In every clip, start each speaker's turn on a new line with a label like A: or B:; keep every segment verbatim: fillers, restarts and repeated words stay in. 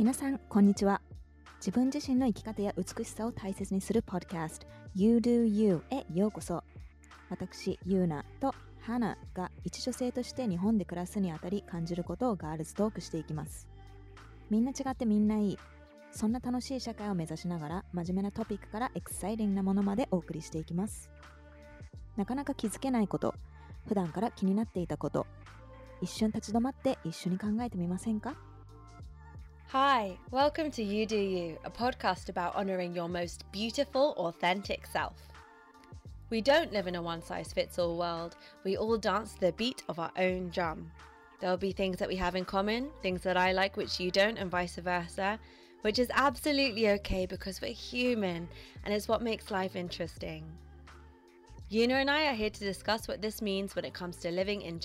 A: 皆さんこんにちは。自分自身の生き方や美しさを大切にするポッドキャスト You Do You へようこそ。私ユーナとハナが一女性として日本で暮らすにあたり感じることをガールズトークしていきます。みんな違ってみんないい、そんな楽しい社会を目指しながら真面目なトピックからエクサイティングなものまでお送りしていきます。なかなか気づけないこと、普段から気になっていたこと、一瞬立ち止まって一緒に考えてみませんか？
B: Hi, welcome to You Do You, a podcast about honouring your most beautiful, authentic self. We don't live in a one-size-fits-all world. We all dance to the beat of our own drum. There'll be things that we have in common, things that I like which you don't, and vice versa, which is absolutely okay because we're human and it's what makes life interesting. Yuna and I are here to discuss what this means when it comes to living in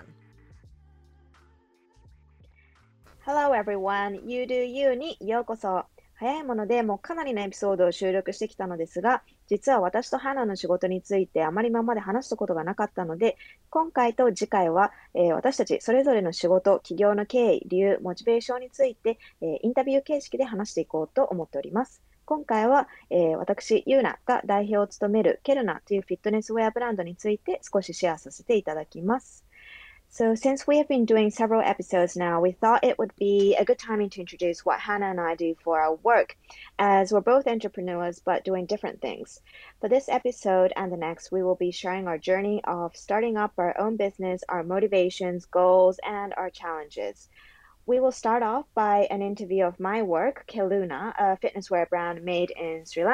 C: Japan.Hello everyone, You Do You にようこそ。早いものでもうかなりのエピソードを収録してきたのですが、実は私と花の仕事についてあまり今まで話したことがなかったので、今回と次回は、えー私たちそれぞれの仕事、企業の経緯、理由、モチベーションについて、えーインタビュー形式で話していこうと思っております。今回は、えー私、ユーナが代表を務めるケルナというフィットネスウェアブランドについて少しシェアさせていただきます。So since we have been doing several episodes now, we thought it would be a good timing to introduce what Hannah and I do for our work, as we're both entrepreneurs but doing different things. For this episode and the next, we will be sharing our journey of starting up our own business, our motivations, goals, and our challenges. We will start off by an interview of my work, Keluna, a fitness wear brand made in Sri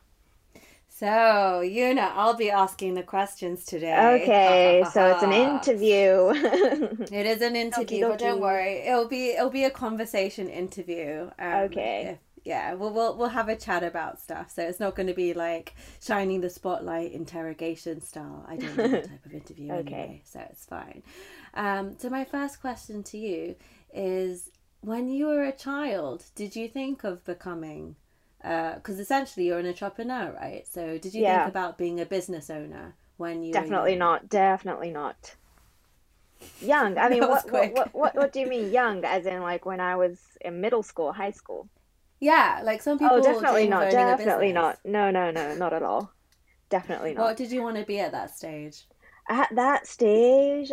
C: Lanka.So,
B: Yuna, I'll be asking the questions today.
C: Okay, so it's an interview.
B: It is an interview,
C: Okie
B: but don't
C: dokie.
B: worry, it'll be it'll be a conversation interview. Um,
C: Okay.
B: If, yeah, we'll, we'll we'll have a chat about stuff. So it's not going to be like shining the spotlight interrogation style. I don't do that type of interview
C: Okay.
B: anyway, so it's fine. Um, so my first question to you is: when you were a child, did you think of becoming? Because essentially you're an entrepreneur, right? So did you
C: Yeah.
B: think about being a business owner when you were
C: Definitely
B: young?
C: not. Definitely not. Young. I mean,
B: That was
C: what, what
B: quick.
C: what what what do you mean young? As in like when I was in middle school, high school?
B: Yeah, like some
C: Oh,
B: people
C: definitely
B: dream of
C: not.
B: owning a
C: Definitely
B: business.
C: not. No, no, no, not at all. Definitely not.
B: What did you want to be at that stage?
C: At that stage,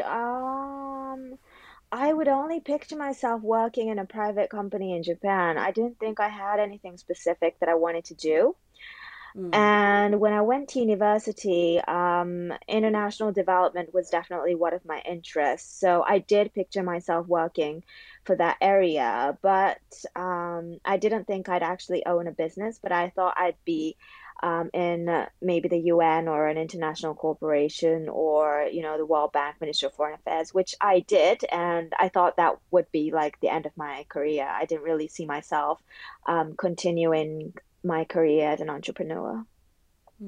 C: um, I would only picture myself working in a private company in Japan. I didn't think I had anything specific that I wanted to do.
B: Mm.
C: And when I went to university, um, international development was definitely one of my interests. So I did picture myself working for that area, but um, I didn't think I'd actually own a business, but I thought I'd be um, in uh, maybe the U N or an international corporation or, you know, the World Bank, Ministry of Foreign Affairs, which I did. And I thought that would be like the end of my career. I didn't really see myself um, continuing my career as an entrepreneur.
B: うん。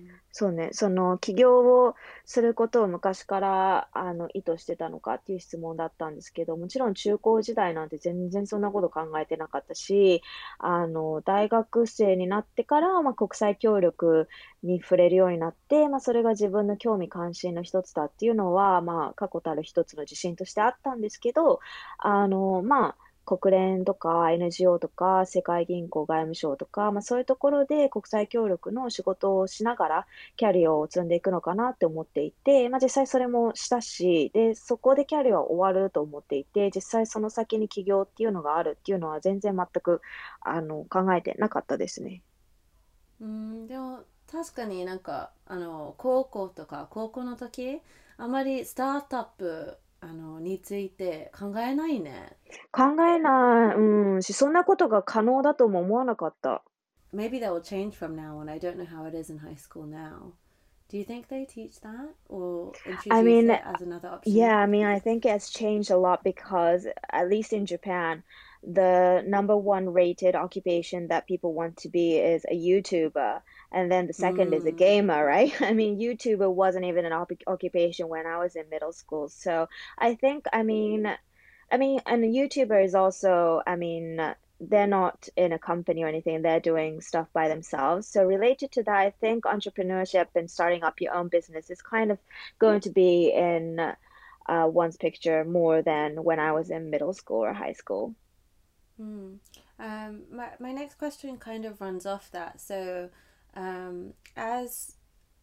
C: そうね、その起業をすることを昔からあの意図してたのかっていう質問だったんですけど、もちろん中高時代なんて全然そんなこと考えてなかったし、あの大学生になってから、まあ、国際協力に触れるようになって、まあ、それが自分の興味関心の一つだっていうのは、まあ、確固たる一つの自信としてあったんですけど、あのまあ国連とか エヌジーオー とか世界銀行外務省とか、まあ、そういうところで国際協力の仕事をしながらキャリアを積んでいくのかなって思っていて、まあ、実際それもしたし、で、そこでキャリアは終わると思っていて、実際その先に起業っていうのがあるっていうのは全然全くあの考えてなかったですね。
B: うん、でも確かになんかあの高校とか高校の時あまりスタートアップあのについて考えないね。
C: 考えない、うんし、そんなことが可能だとも思わなかった。
B: Maybe that will change from now on. I don't know how it is in high school now. Do you think they teach that or
C: I
B: introduce
C: mean,
B: it as another option?
C: yeah, I mean, I think it's changed a lot because, at least in Japan, the number one rated occupation that people want to be is a YouTuber, and then the second is a
B: Mm.
C: gamer, right? I mean, YouTuber wasn't even an op occupation when I was in middle school. So I think, I mean, I mean, and a YouTuber is also, I mean, they're not in a company or anything, they're doing stuff by themselves. So related to that, I think entrepreneurship and starting up your own business is kind of going to be in uh, one's picture more than when I was in middle school or high school.
B: Hmm. Um, my, my next question kind of runs off that. So, um, as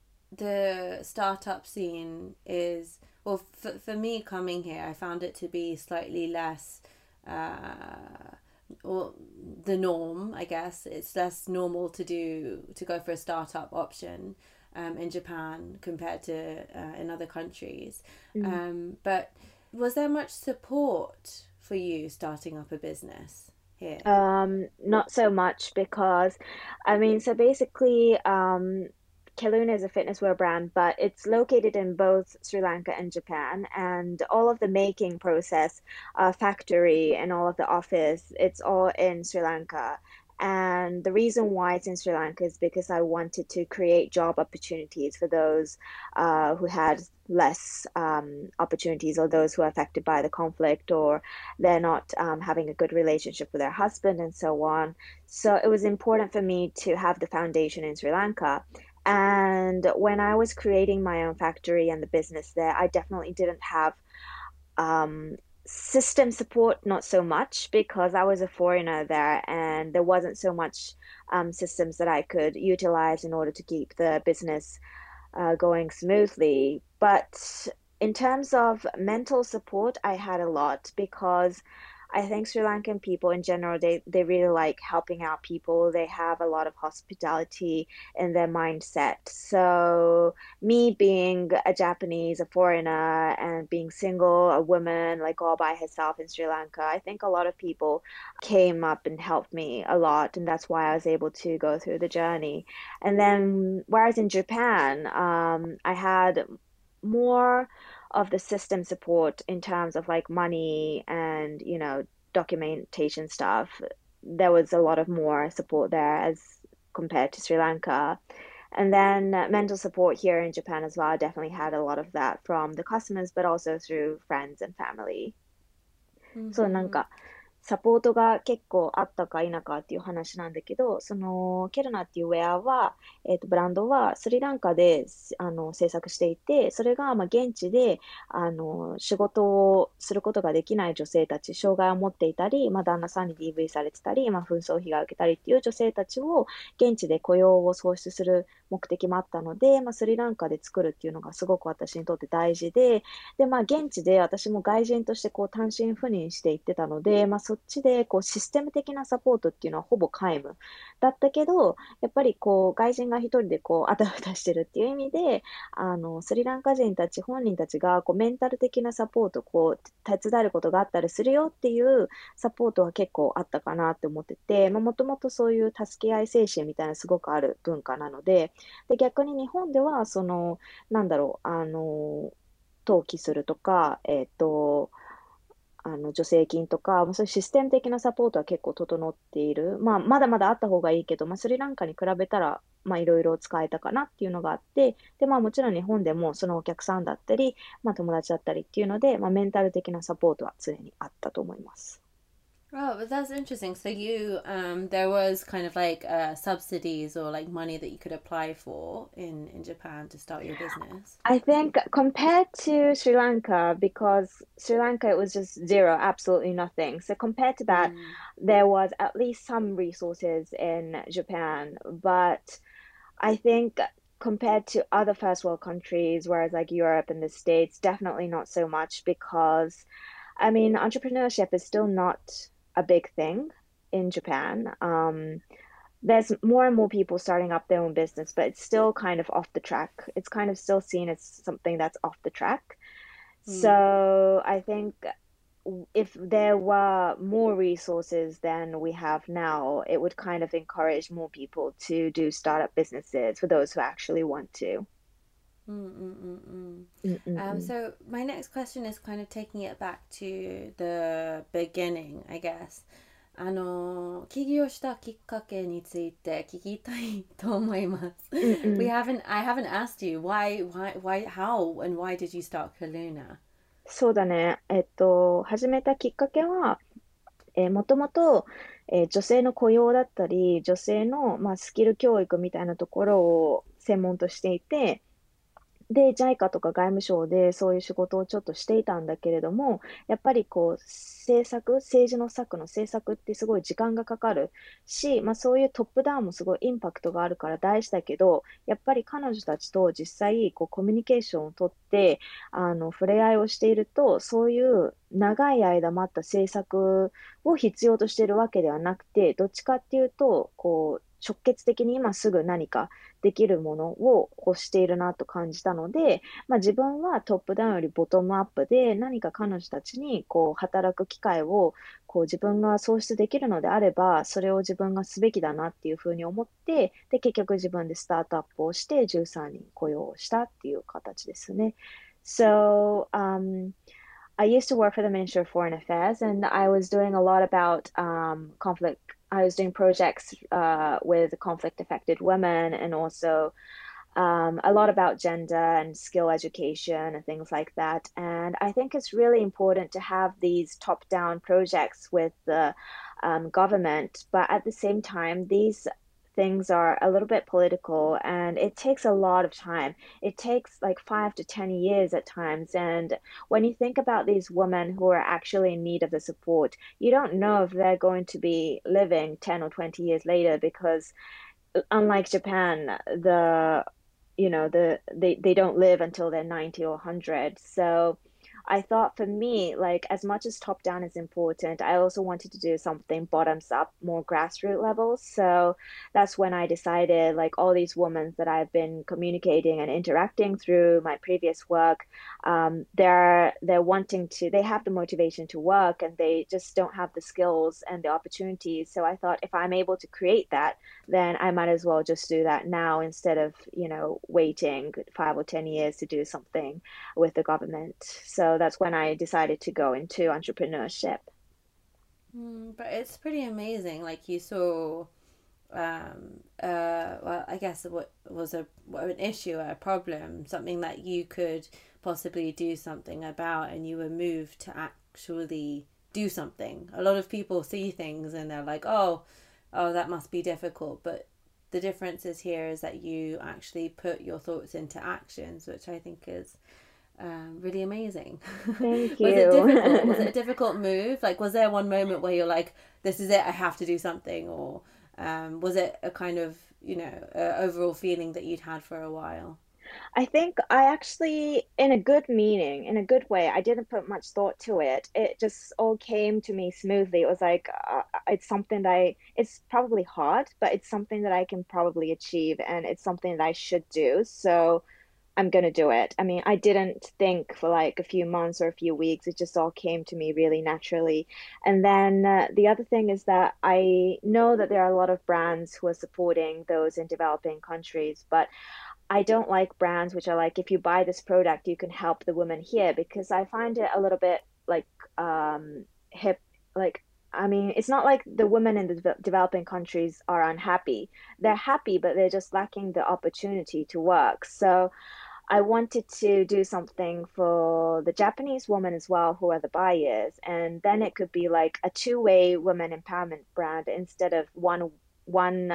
B: the startup scene is, well, for, for me coming here, I found it to be slightly less, uh, or the norm, I guess. It's less normal to do, to go for a startup option um, in Japan compared to uh, in other countries. Um, but was there much support for you starting up a business here?
C: Um, not so much because, I mean, so basically, um, Keluna is a fitness wear brand, but it's located in both Sri Lanka and Japan, and all of the making process, uh, factory, and all of the office, it's all in Sri Lanka. And the reason why it's in Sri Lanka is because I wanted to create job opportunities for those uh, who had less um, opportunities, or those who are affected by the conflict, or they're not um, having a good relationship with their husband and so on. So it was important for me to have the foundation in Sri Lanka. And when I was creating my own factory and the business there, I definitely didn't have um, system support, not so much, because I was a foreigner there and there wasn't so much um, systems that I could utilize in order to keep the business uh, going smoothly. But in terms of mental support, I had a lot because I think Sri Lankan people in general, they, they really like helping out people. They have a lot of hospitality in their mindset. So me being a Japanese, a foreigner, and being single, a woman, like all by herself in Sri Lanka, I think a lot of people came up and helped me a lot. And that's why I was able to go through the journey. And then, whereas in Japan, um, I had more of the system support in terms of like money and, you know, documentation stuff. There was a lot of more support there as compared to Sri Lanka. And then uh, mental support here in Japan as well. I definitely had a lot of that from the customers, but also through friends and family. そう、なん
B: Mm-hmm.
C: か、サポートが結構あったか否かっていう話なんだけど、その、ケルナっていうウェアは、えっと、ブランドはスリランカで、あの、制作していて、それが、まあ、現地で、あの、仕事をすることができない女性たち、障害を持っていたり、まあ、旦那さんに ディーブイ されてたり、まあ、紛争被害を受けたりっていう女性たちを、現地で雇用を創出する目的もあったので、まあ、スリランカで作るっていうのがすごく私にとって大事で、で、まあ、現地で私も外人としてこう単身赴任していってたので、まあ、そっちでこうシステム的なサポートっていうのはほぼ皆無だったけど、やっぱりこう外人が一人でこうあたふたしてるっていう意味で、あのスリランカ人たち本人たちがこうメンタル的なサポート、こう手伝えることがあったりするよっていうサポートは結構あったかなって思ってて、もともとそういう助け合い精神みたいなすごくある文化なので、で逆に日本ではそのなんだろう、あの登記するとか、えっと、あの助成金とか、まあそういうシステム的なサポートは結構整っている。まあ、まだまだあった方がいいけど、まあ、スリランカに比べたら、まあ、いろいろ使えたかなっていうのがあって、で、まあ、もちろん日本でもそのお客さんだったり、まあ、友達だったりっていうので、まあ、メンタル的なサポートは常にあったと思います。
B: Oh, but that's interesting. So you, um, there was kind of like uh, subsidies or like money that you could apply for in in Japan to start your business.
C: I think compared to Sri Lanka, because Sri Lanka it was just zero, absolutely nothing. So compared to that,
B: Mm.
C: there was at least some resources in Japan, but I think compared to other first world countries, whereas like Europe and the States, definitely not so much because I mean, entrepreneurship is still not a big thing in Japan. Um, there's more and more people starting up their own business, but it's still kind of off the track. It's kind of still seen as something that's off the track.
B: Mm.
C: So I think if there were more resources than we have now, it would kind of encourage more people to do startup businesses for those who actually want to.
B: Mm, mm, mm, mm. Um,
C: Mm-mm-mm.
B: so my next question is kind of taking it back to the beginning, I guess. あの起業したきっかけについて聞きたいと思います。We
C: Mm-mm.
B: haven't, I haven't asked you why, why, why, how, and why did you start Kaluna?
C: そうだね。えっと、始めたきっかけは、えー、もともと、えー女性の雇用だったり、女性の、まあ、スキル教育みたいなところを専門としていて、 で、ジャイカ とか外務省でそういう仕事をちょっとしていたんだけれども、やっぱりこう、政策、政治の策の政策ってすごい時間がかかるし、まあそういうトップダウンもすごいインパクトがあるから大事だけど、やっぱり彼女たちと実際こうコミュニケーションをとって、あの、触れ合いをしていると、そういう長い間待った政策を必要としているわけではなくて、どっちかっていうと、こう、直結的に今すぐ何かできるものを欲しているなと感じたので、まあ、自分はトップダウンよりボトムアップで何か彼女たちにこう働く機会をこう自分が創出できるのであれば、それを自分がすべきだなっていうふうに思って、で、結局自分でスタートアップをしてじゅうさんにん雇用したっていう形ですね。So, um, I used to work for the Ministry of Foreign Affairs, and I was doing a lot about um, conflict. I was doing projects uh, with conflict affected women and also um, a lot about gender and skill education and things like that. And I think it's really important to have these top down projects with the um, government, but at the same time, these things are a little bit political and it takes a lot of time. It takes like five to ten years at times. And when you think about these women who are actually in need of the support, you don't know if they're going to be living ten or twenty years later because unlike Japan, the you know the they they don't live until they're ninety or one hundred. So I thought for me, like as much as top down is important, I also wanted to do something bottoms up, more grassroots levels. So that's when I decided, like all these women that I've been communicating and interacting through my previous work, um, they're they're wanting to, they have the motivation to work and they just don't have the skills and the opportunities. So I thought if I'm able to create that, then I might as well just do that now instead of, you know, waiting five or ten years to do something with the government. So that's when I decided to go into entrepreneurship.
B: Mm, but it's pretty amazing. Like you saw, um, uh, well, I guess what was a what, an issue, a problem, something that you could possibly do something about, and you were moved to actually do something. A lot of people see things and they're like, oh, oh, that must be difficult. But the difference is here is that you actually put your thoughts into actions, which I think is um, really amazing.
C: Thank
B: Was it difficult? Was it
C: you.
B: a difficult move? Like, was there one moment where you're like, this is it, I have to do something? Or um, was it a kind of, you know, uh, overall feeling that you'd had for a while?
C: I think I actually, in a good meaning, in a good way, I didn't put much thought to it. It just all came to me smoothly. It was like, uh, it's something that I, it's probably hard, but it's something that I can probably achieve and it's something that I should do. So I'm gonna do it. I mean, I didn't think for like a few months or a few weeks. It just all came to me really naturally. And then uh, the other thing is that I know that there are a lot of brands who are supporting those in developing countries, but I don't like brands which are like, if you buy this product, you can help the women here because I find it a little bit like um hip, like I mean, it's not like the women in the de developing countries are unhappy. They're happy, but they're just lacking the opportunity to work. So I wanted to do something for the Japanese women as well, who are the buyers, and then it could be like a two-way women empowerment brand instead of one one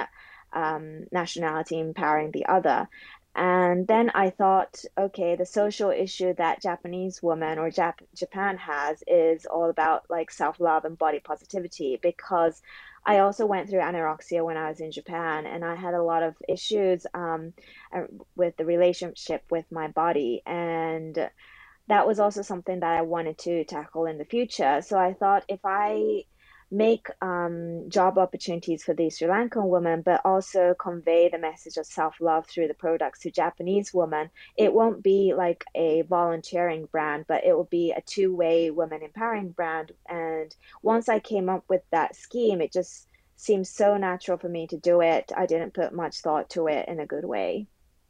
C: um, nationality empowering the other. And then I thought, okay, the social issue that Japanese women or Jap Japan has is all about like self-love and body positivity because I also went through anorexia when I was in Japan and I had a lot of issues um, uh, with the relationship with my body. And that was also something that I wanted to tackle in the future. So I thought if I make um, job opportunities for these Sri Lankan women, but also convey the message of self-love through the products to Japanese women, it won't be like a volunteering brand, but it will be a two-way women empowering brand. And once I came up with that scheme, it just seemed so natural for me to do it. I didn't put much thought to it in a good way.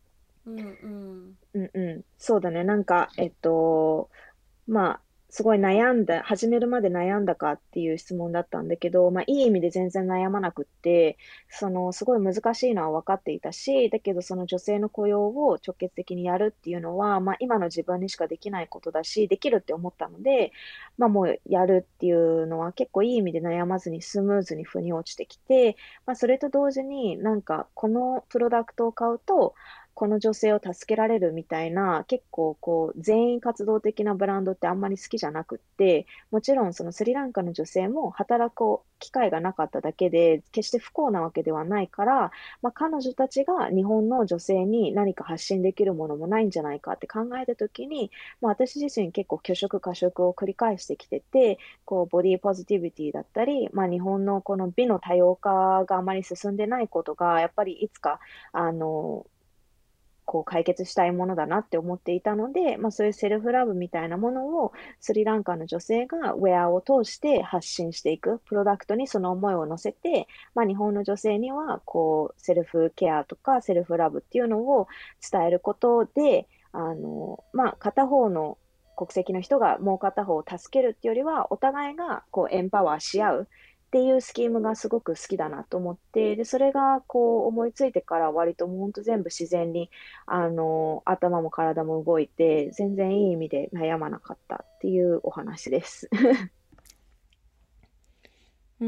B: Mm-mm.
C: うんうん。そうだね。なんか、えっと、まあ、すごい悩んだ、始めるまで悩んだかっていう質問だったんだけど、まあ、いい意味で全然悩まなくって、その、すごい難しいのは分かっていたし、だけどその女性の雇用を直結的にやるっていうのは、まあ、今の自分にしかできないことだし、できるって思ったので、まあ、もうやるっていうのは結構いい意味で悩まずにスムーズに腑に落ちてきて、まあ、それと同時になんか、このプロダクトを買うと、 この女性を助けられるみたいな、結構こう、全員活動的なブランドってあんまり好きじゃなくって、もちろんそのスリランカの女性も働く機会がなかっただけで、決して不幸なわけではないから、まあ、彼女たちが日本の女性に何か発信できるものもないんじゃないかって考えたときに、まあ、私自身結構拒食過食を繰り返してきてて、こうボディポジティビティだったり、まあ、日本のこの美の多様化があまり進んでないことが、やっぱりいつか、あの、こう解決したいものだなって思っていたので、まあ、そういうセルフラブみたいなものをスリランカの女性がウェアを通して発信していく、プロダクトにその思いを乗せて、まあ、日本の女性にはこうセルフケアとかセルフラブっていうのを伝えることで、あの、まあ、片方の国籍の人がもう片方を助けるっていうよりは、お互いがこうエンパワーし合うっていうスキームがすごく好きだなと思って、で、それがこう思いついてから割ともう本当全部自然に、あの、頭も体も動いて、全然いい意味で悩まなかったっていうお話です。
B: うん。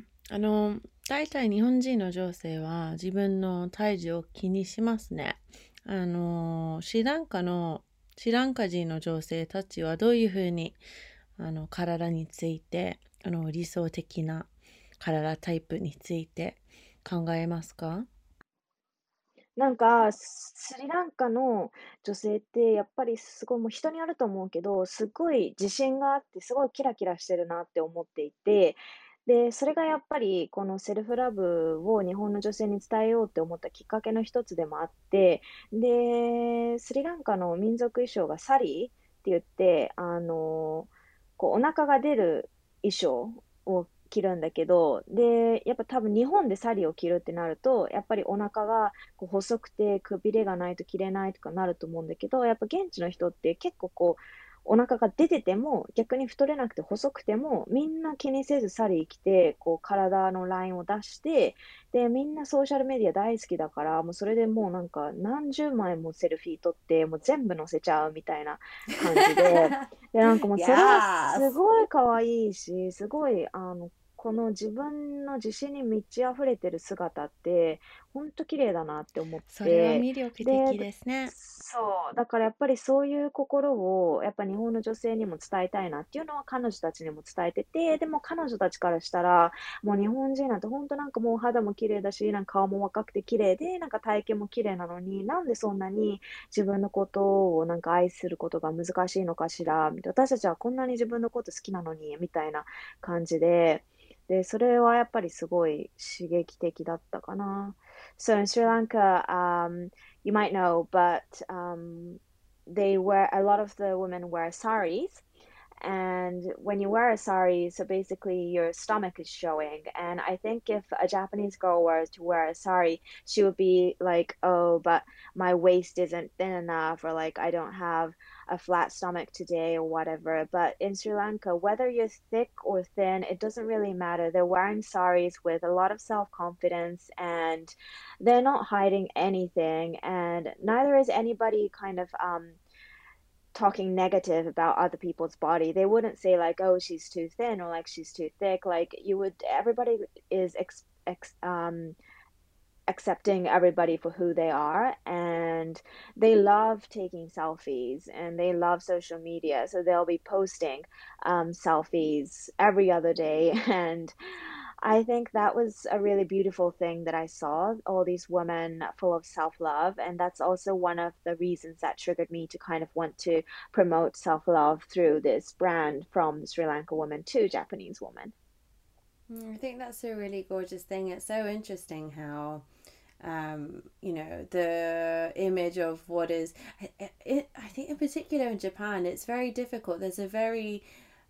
B: あの、大体日本人の女性は自分の体重を気にしますね。あの、シランカの、シランカ人の女性たちはどういうふうに、あの、体について、あの、理想的な体タイプについて考えますか？
C: なんか、ススリランカの女性ってやっぱりすごいもう人によると思うけど、すごい自信があって、すごいキラキラしてるなって思っていて、で、それがやっぱりこのセルフラブを日本の女性に伝えようって思ったきっかけの一つでもあって、で、スリランカの民族衣装がサリーって言って、あの、こうお腹が出る衣装を着るんだけど、で、やっぱ多分日本でサリーを着るってなると、やっぱりお腹がこう細くてくびれがないと着れないとかなると思うんだけど、やっぱ現地の人って結構こう、お腹が出てても、逆に太れなくて細くても、みんな気にせずサリー着て、こう体のラインを出して、で、みんなソーシャルメディア大好きだから、もうそれでもうなんか何十枚もセルフィー撮って、もう全部載せちゃうみたいな感じで、で、なんかもうそれは
B: Yes!
C: すごい可愛いし、すごい、あの、この自分の自信に満ち溢れてる姿って、ほんと綺麗だなって思っ
B: それは
C: て、
B: 魅力
C: で、
B: 的ですね。
C: そう、だからやっぱりそういう心を、やっぱ日本の女性にも伝えたいなっていうのは彼女たちにも伝えてて、でも彼女たちからしたら、もう日本人なんてほんとなんかもう肌も綺麗だし、なんか顔も若くて綺麗で、なんか体型も綺麗なのに、なんでそんなに自分のことをなんか愛することが難しいのかしら、みたいな、私たちはこんなに自分のこと好きなのに、みたいな感じで、で、それはやっぱりすごい刺激的だったかな。So in Sri Lanka, um, you might know, but um, they wear a lot of the women wear saris. And when you wear a sari, so basically your stomach is showing. And I think if a Japanese girl were to wear a sari, she would be like, oh, but my waist isn't thin enough, or like I don't have a flat stomach today, or whatever. But in Sri Lanka, whether you're thick or thin, it doesn't really matter. They're wearing saris with a lot of self confidence, and they're not hiding anything. And neither is anybody kind of um talking negative about other people's body. They wouldn't say like, "Oh, she's too thin," or like she's too thick. Like you would, everybody is ex, ex um accepting everybody for who they are, and they love taking selfies and they love social media, so they'll be posting um, selfies every other day. And I think that was a really beautiful thing that I saw, all these women full of self-love, and that's also one of the reasons that triggered me to kind of want to promote self-love through this brand from Sri Lanka woman to Japanese woman.
B: Mm, I think that's a really gorgeous thing. It's so interesting how, um, you know, the image of what is, it, it, I think in particular in Japan, it's very difficult. There's a very,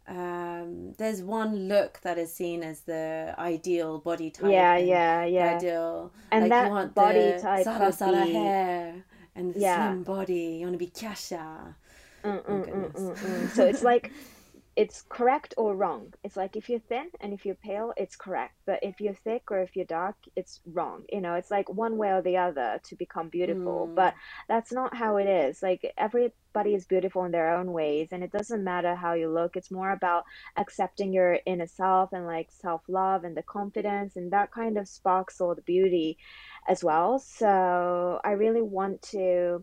B: um, there's one look that is seen as the ideal body type
C: Yeah,
B: and
C: yeah,
B: the
C: yeah.
B: ideal,
C: And
B: like you
C: that
B: want
C: body
B: the
C: type
B: sara
C: could
B: sara
C: be,
B: hair and the
C: yeah.
B: slim body. You want to be kasha.
C: Mm,
B: Oh
C: mm, mm,
B: goodness.
C: mm, mm. So it's like it's correct or wrong. It's like if you're thin and if you're pale, it's correct. But if you're thick or if you're dark, it's wrong. You know, it's like one way or the other to become beautiful.
B: Mm.
C: But that's not how it is. Like everybody is beautiful in their own ways, and it doesn't matter how you look. It's more about accepting your inner self and like self-love and the confidence, and that kind of sparks all the beauty as well. So I really want to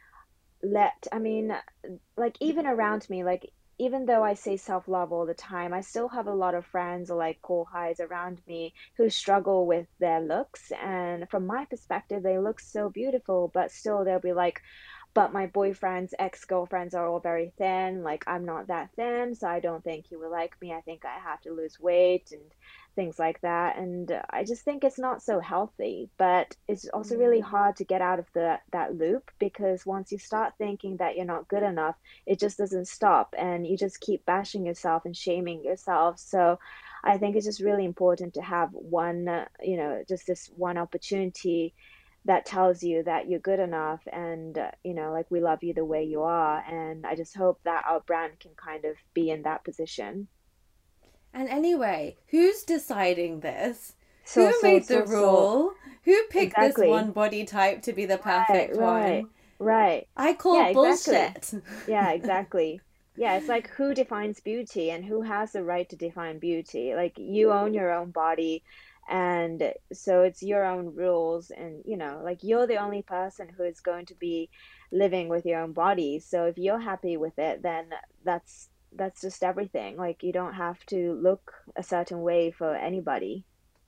C: let, I mean, like even around me, like even though I say self-love all the time, I still have a lot of friends or like kohais around me who struggle with their looks. And from my perspective, they look so beautiful, but still they'll be like, but my boyfriend's ex-girlfriends are all very thin. Like I'm not that thin, so I don't think he will like me. I think I have to lose weight and things like that. And uh, I just think it's not so healthy, but it's also really
B: Mm.
C: hard to get out of the that loop because once you start thinking that you're not good enough, it just doesn't stop and you just keep bashing yourself and shaming yourself. So I think it's just really important to have one, uh, you know, just this one opportunity that tells you that you're good enough and uh, you know, like we love you the way you are. And I just hope that our brand can kind of be in that position.
B: And anyway, who's deciding this?
C: So,
B: Who
C: so,
B: made the
C: so, so,
B: rule? Who picked this
C: exactly.
B: one body type to be the
C: Right,
B: perfect
C: right,
B: one?
C: right.
B: I call
C: Yeah, exactly.
B: bullshit.
C: Yeah, exactly. Yeah, it's like who defines beauty and who has the right to define beauty? Like you own your own body, and so it's your own rules, and you know, like you're the only person who is going to be living with your own body. So if you're happy with it, then that's that's just everything. Like you don't have to look a certain way for anybody.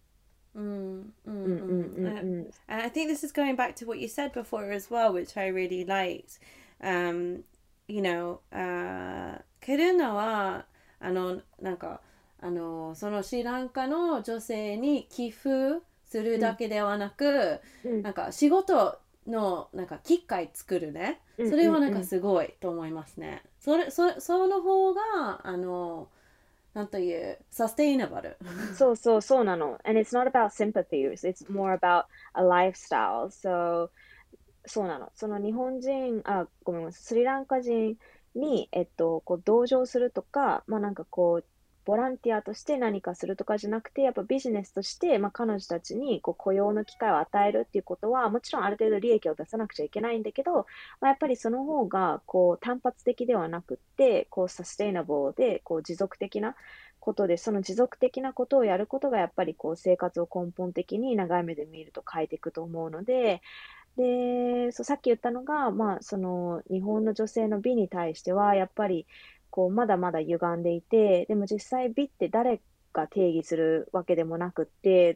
B: Mm, mm,
C: Mm, mm,
B: mm.
C: mm,
B: Uh,
C: mm.
B: and I think this is going back to what you said before as well, which I really liked. Um, you know, uh, ケルナはあのなんかあのそのシリランカの女性に寄付するだけではなく、
C: うん、
B: なんか仕事のなんか機会作るね。
C: うん、
B: それはなん
C: うん、うん。
B: かすごいと思いますね。それそその方があのなんというサステイナブル。
C: そうそうそうなの。And it's not about sympathies. It's more about a lifestyle. So そうなの。その日本人、あ、ごめんなさい、スリランカ人に、えっと、こう同情するとか、まあなんかこう、ボランティアとして何かするとかじゃなくて、やっぱビジネスとして、まあ、彼女たちにこう雇用の機会を与えるっていうことは、もちろんある程度利益を出さなくちゃいけないんだけど、まあ、やっぱりその方がこう単発的ではなくって、こうサステイナブルでこう持続的なことで、その持続的なことをやることがやっぱりこう生活を根本的に長い目で見ると変えていくと思うので、で、そう、さっき言ったのが、まあ、その、日本の女性の美に対しては、やっぱり、こう、まだまだ歪んでいて、でも実際美って誰が定義するわけでもなくって、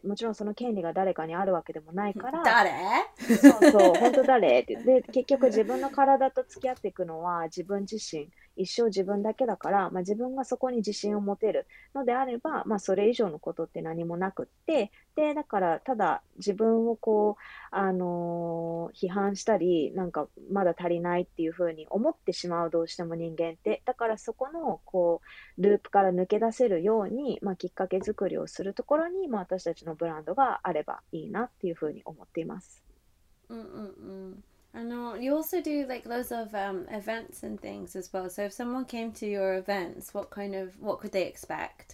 C: もちろんその権利が誰かにあるわけでもないから、
B: 誰
C: そうそう、本当誰って。で、結局自分の体と付き合っていくのは自分自身、一生自分だけだから、まあ、自分がそこに自信を持てるのであれば、まあ、それ以上のことって何もなくって、で、だから、ただ自分をこう、あのー批判したり、なんかまだ足りないっていうふうに思ってしまう、どうしても人間って。だからそこの、こう、ループから抜け出せるように、まあ、きっかけ作りをするところに、まあ、私たちのブランドがあればいいなっていうふうに思っています。
B: Mm-mm-mm. I know you also do like loads of um, events and things as well. So if someone came to your events, what kind of what could they expect?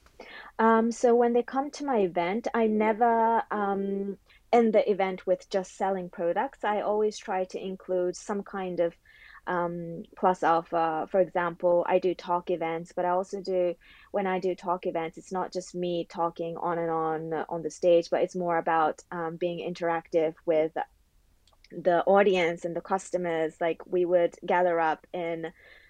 C: Um, so when they come to my event, I never um, end the event with just selling products. I always try to include some kind of um, plus alpha. For example, I do talk events, but I also do, when I do talk events, it's not just me talking on and on uh, on the stage, but it's more about um, being interactive with the audience and the customers. Like we would gather up in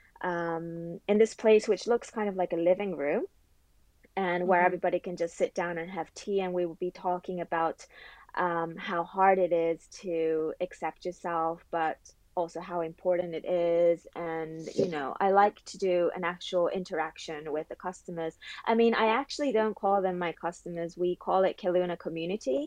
C: um, in this place, which looks kind of like a living room and where
B: Mm-hmm.
C: everybody can just sit down and have tea. And we will be talking about um, how hard it is to accept yourself, but also how important it is. And, you know, I like to do an actual interaction with the customers. I mean, I actually don't call them my customers. We call it Kelowna community.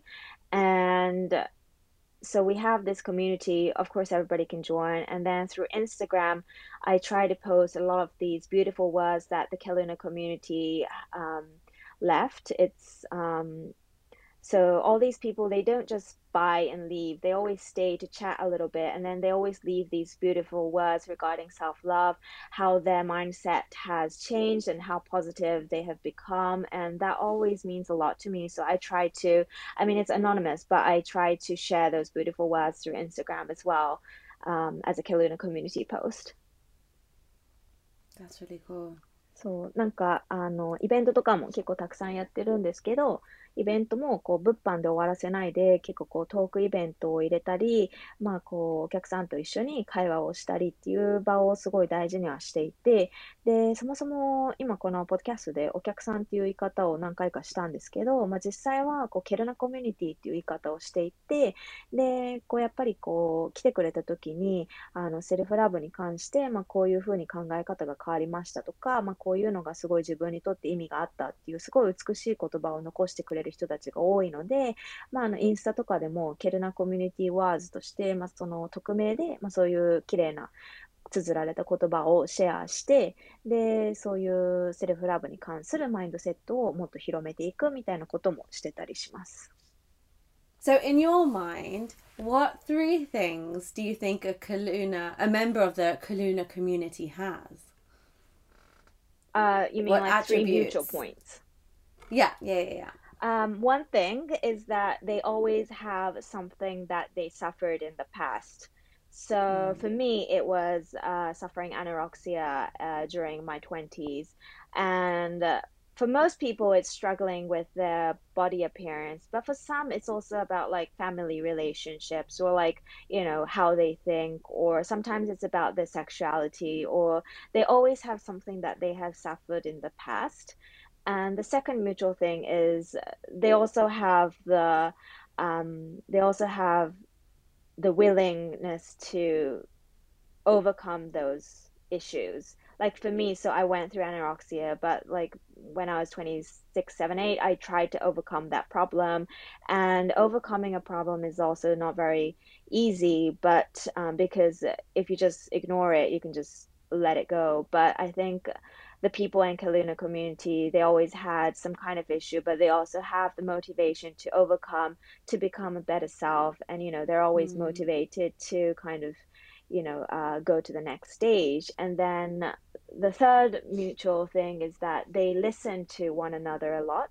C: And so we have this community. Of course, everybody can join. And then through Instagram, I try to post a lot of these beautiful words that the Kelowna community um, left. It's um, So all these people, they don't just buy and leave. They always stay to chat a little bit, and then they always leave these beautiful words regarding self-love, how their mindset has changed and how positive they have become. And that always means a lot to me. So I try to, I mean, it's anonymous, but I try to share those beautiful words through Instagram as well, um, as a Kelowna community post.
B: That's really cool.
C: そう、なんか、あの、イベントとかも結構たくさんやってるんですけど、イベントもこう物販で終わらせないで、結構こうトークイベントを入れたり、まあこうお客さんと一緒に会話をしたりっていう場をすごい大事にはしていて、で、そもそも今このポッドキャストでお客さんっていう言い方を何回かしたんですけど、まあ実際はこうケルナコミュニティっていう言い方をしていて、で、こうやっぱりこう来てくれた時に、あのセルフラブに関して、まあこういうふうに考え方が変わりましたとか、まあこういうのがすごい自分にとって意味があったっていうすごい美しい言葉を残してくれる人たちが多いので、まあ、あのインスタとかでもケルナコミュニティワーズとして、まあ、その匿名で、まあ、そういう綺麗な綴られた言葉をシェアして、で、そういうセルフラブに関するマインドセットをもっと広めていくみたいなこともしてたりします。
B: So, in your mind, what three things do you think a Kelowna, a member of the Kelowna community has?
C: Uh, you mean
B: What
C: like three
B: attributes?
C: mutual points?
B: Yeah, yeah, yeah, yeah.
C: Um, one thing is that they always have something that they suffered in the past. So for me, it was uh, suffering anorexia uh, during my twenties. And uh, for most people, it's struggling with their body appearance. But for some, it's also about like family relationships or like, you know, how they think, or sometimes it's about their sexuality, or they always have something that they have suffered in the past. And the second mutual thing is they also have the um, they also have the willingness to overcome those issues. Like for me, so I went through anorexia, but like when I was twenty-six, seven, eight, I tried to overcome that problem. And overcoming a problem is also not very easy, but um, because if you just ignore it, you can just let it go. But I think the people in Kelowna community, they always had some kind of issue, but they also have the motivation to overcome, to become a better self. And, you know, they're always
B: Mm.
C: motivated to kind of, you know, uh, go to the next stage. And then the third mutual thing is that they listen to one another a lot.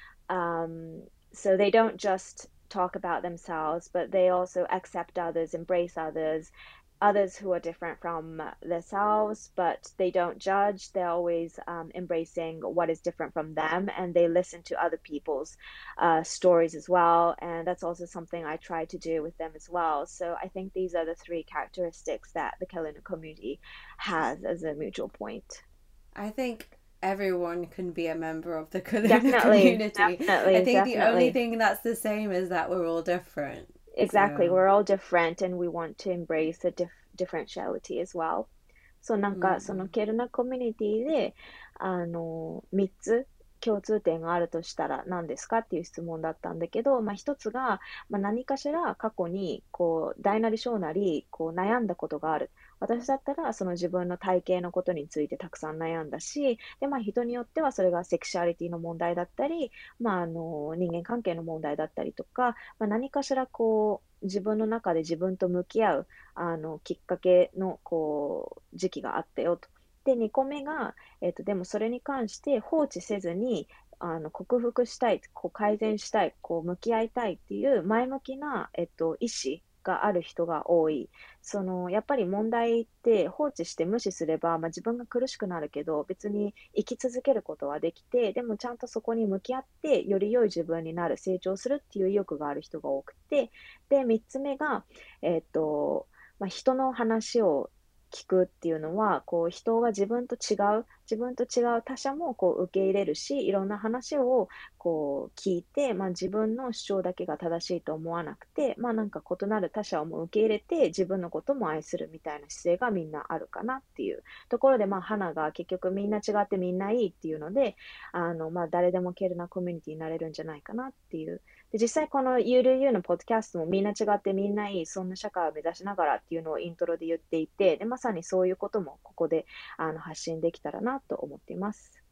C: Um, so they don't just talk about themselves, but they also accept others, embrace others, others who are different from themselves, but they don't judge. They're always um, embracing what is different from them, and they listen to other people's uh, stories as well. And that's also something I try to do with them as well. So I think these are the three characteristics that the Kelowna community has as a mutual point.
B: I think everyone can be a member of the Kelowna
C: Definitely,
B: community.
C: definitely,
B: I think the only
C: definitely.
B: thing that's the same is that we're all different.
C: Exactly.
B: So,
C: We're all different and we want to embrace the dif differentiality as well. そう、なんか、そのケルナコミュニティで、あの、みっつ共通点があるとしたら何ですかっていう質問だったんだけど、まあ一つが、まあ何かしら過去に、こう、大なり小なり、こう悩んだことがある。私だったら、その自分の体型のことについてたくさん悩んだし、で、まあ人によってはそれがセクシュアリティの問題だったり、まああの、人間関係の問題だったりとか、まあ何かしらこう、自分の中で自分と向き合う、あの、きっかけの、こう、時期があったよと。で、にこめが、えっと、でもそれに関して放置せずに、あの、克服したい、こう改善したい、こう向き合いたいっていう前向きな、えっと、意思がある人が多い。その、やっぱり問題って放置して無視すれば、まあ、自分が苦しくなるけど、別に生き続けることはできて、でもちゃんとそこに向き合って、より良い自分になる、成長するっていう意欲がある人が多くて、で、みっつめが、えっと、まあ、人の話を聞くっていうのは、こう人が自分と違う、自分と違う他者もこう受け入れるし、いろんな話をこう聞いて、まあ、自分の主張だけが正しいと思わなくて、まあなんか異なる他者をも受け入れて、自分のことも愛するみたいな姿勢がみんなあるかなっていうところで、まあ花が結局みんな違ってみんないいっていうので、あのまあ誰でもケルナコミュニティになれるんじゃないかなっていう。で、実際この ユーディーユー のポッドキャストもみんな違ってみんないい、そんな社会を目指しながらっていうのをイントロで言っていて、で、まさにそういうこともここであの発信できたらなと思っています。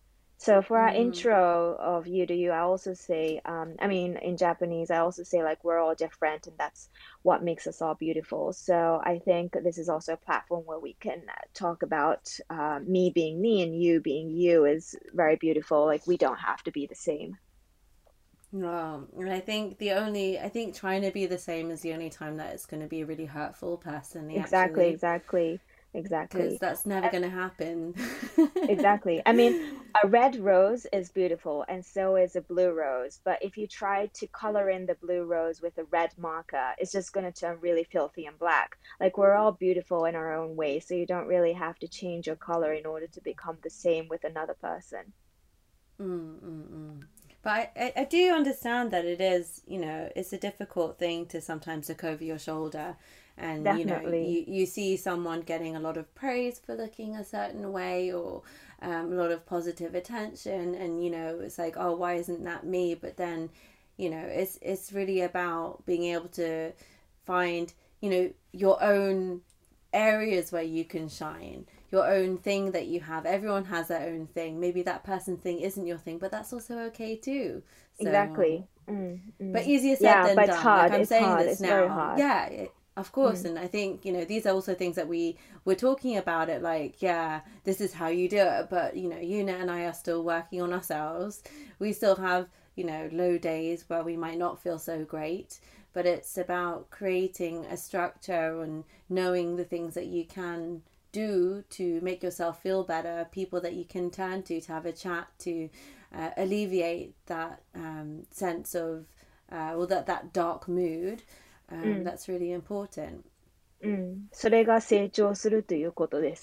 C: So for our
B: うん。
C: intro of You Do You, I also say, um, I mean, in Japanese, I also say like we're all different and that's what makes us all beautiful. So I think this is also a platform where we can uh, talk about uh, me being me and you being you is very beautiful. Like we don't have to be the same.
B: Well, and I think the only, I think trying to be the same is the only time that it's going to be really hurtful personally,
C: Exactly,
B: actually,
C: exactly,
B: because
C: exactly.
B: that's never going to happen.
C: Exactly. I mean, a red rose is beautiful, and so is a blue rose. But if you try to color in the blue rose with a red marker, it's just going to turn really filthy and black. Like, we're all beautiful in our own way, so you don't really have to change your color in order to become the same with another person.
B: Mm, mm, mm. But I, I, I do understand that it is, you know, it's a difficult thing to sometimes look over your shoulder and, you know,
C: Definitely.
B: you, you see someone getting a lot of praise for looking a certain way or um, a lot of positive attention and, you know, it's like, oh, why isn't that me? But then, you know, it's, it's really about being able to find, you know, your own areas where you can shine, your own thing that you have. Everyone has their own thing. Maybe that person thing isn't your thing, but that's also okay too. So,
C: Exactly. Mm,
B: but
C: mm.
B: easier said
C: Yeah,
B: than
C: but it's
B: done. Like
C: hard.
B: I'm
C: It's
B: saying
C: hard.
B: this
C: It's very
B: now.
C: hard.
B: Yeah, it, of course.
C: Mm,
B: And I think, you know, these are also things that we were talking about it like, yeah, this is how you do it. But, you know, Una and I are still working on ourselves. We still have, you know, low days where we might not feel so great. But it's about creating a structure and knowing the things that you can do to make yourself feel better, people that you can turn to to have a chat to uh, alleviate that um, sense of uh, or that that dark mood. Um,
C: うん、
B: that's really important.
C: うん。それが成長するということです。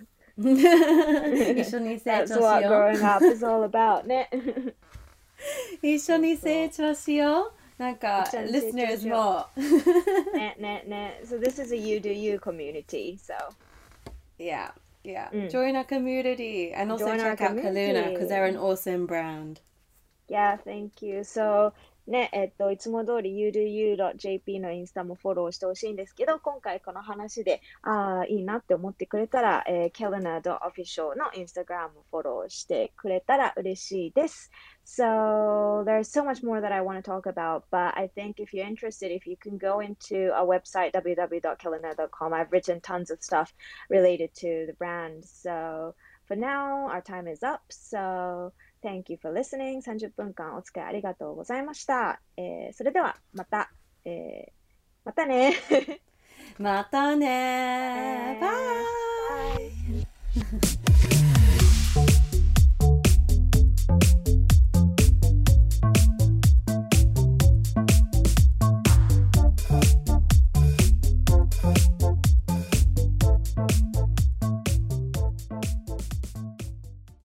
B: 一緒に成
C: That's
B: 長し
C: what
B: よ
C: growing up is all about ね。
B: う。一緒に成長しよう。なんか、
C: 一緒に成長
B: listeners
C: しよ
B: も。
C: う。ね、ね、ね。So this is a you do you community. So
B: Yeah, yeah.
C: うん。
B: Join our community and also
C: Join our
B: check out Kaluna because they're an
C: community.
B: awesome brand.
C: Yeah, thank you. So, ね、えっと、いつも通り ユードゥーユードットジェーピー のインスタもフォローしてほしいんですけど、今回この話で、ああ、いいなって思ってくれたら、えー、kelena.official のインスタグラムフォローしてくれたら嬉しいです。So, there's so much more that I want to talk about, but I think if you're interested, if you can go into our website, w w w dot kelena dot com, I've written tons of stuff related to the brand. So, for now, our time is up. So, Thank you for listening. さんじゅっぷんかんお付き合いありがとうございました。えー、それではまた、えー、またね。
B: またね。バイ。
C: バイ。